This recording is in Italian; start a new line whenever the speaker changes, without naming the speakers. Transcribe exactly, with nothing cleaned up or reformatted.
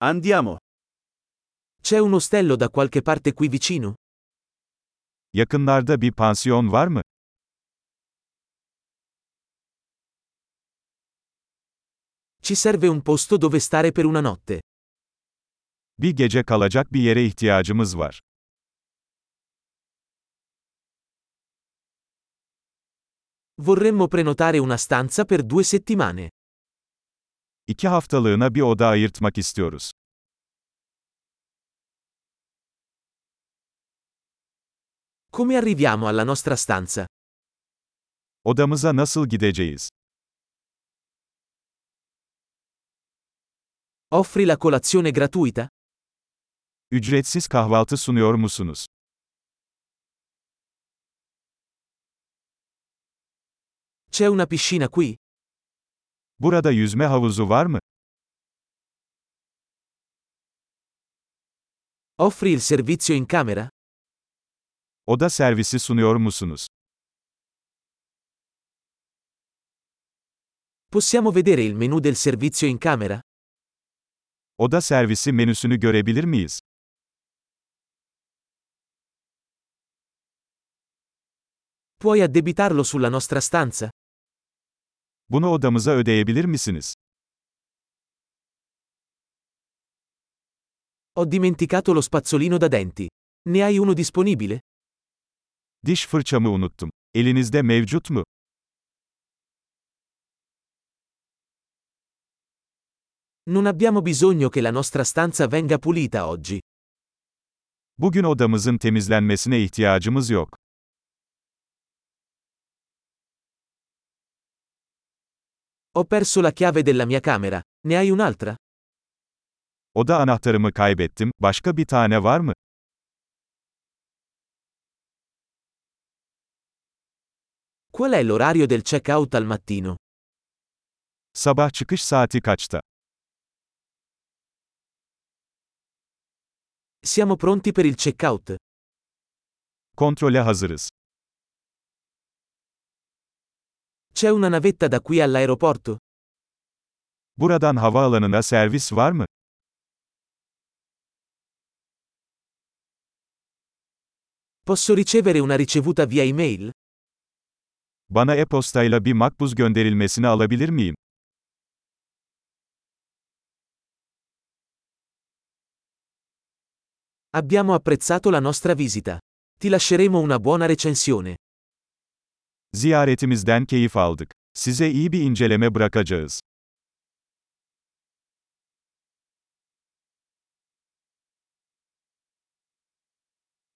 Andiamo.
C'è un ostello da qualche parte qui vicino?
Yakınlarda bir pansiyon var mı?
Ci serve un posto dove stare per una notte.
Bir gece kalacak bir yere ihtiyacımız var.
Vorremmo prenotare una stanza per due settimane.
İki haftalığına bir oda ayırtmak istiyoruz.
Come arriviamo alla nostra stanza?
Odamıza nasıl gideceğiz?
Offri la colazione gratuita?
Ücretsiz kahvaltı sunuyor musunuz?
C'è una piscina qui?
Burada yüzme havuzu var mı?
Offri il servizio in camera?
Oda servisi sunuyor musunuz?
Possiamo vedere il menu del servizio in camera?
Oda servisi menüsünü görebilir miyiz?
Puoi addebitarlo sulla nostra stanza?
Bunu odamıza ödeyebilir misiniz?
Ho dimenticato lo spazzolino da denti. Ne hai uno disponibile?
Diş fırçamı unuttum. Elinizde mevcut mu?
Non abbiamo bisogno che la nostra stanza venga pulita oggi.
Bugün odamızın temizlenmesine ihtiyacımız yok.
Ho perso la chiave della mia camera. Ne hai un'altra?
Oda anahtarımı kaybettim. Başka bir tane var mı?
Qual è l'orario del check-out al mattino?
Sabah çıkış saati kaçta?
Siamo pronti per il check-out.
Kontrole hazırız.
C'è una navetta da qui all'aeroporto?
Buradan havaalanına servis var mı?
Posso ricevere una ricevuta via email?
Bana e-postayla bir makbuz gönderilmesini alabilir miyim?
Abbiamo apprezzato la nostra visita. Ti lasceremo una buona recensione.
Ziyaretimizden keyif aldık. Size iyi bir inceleme bırakacağız.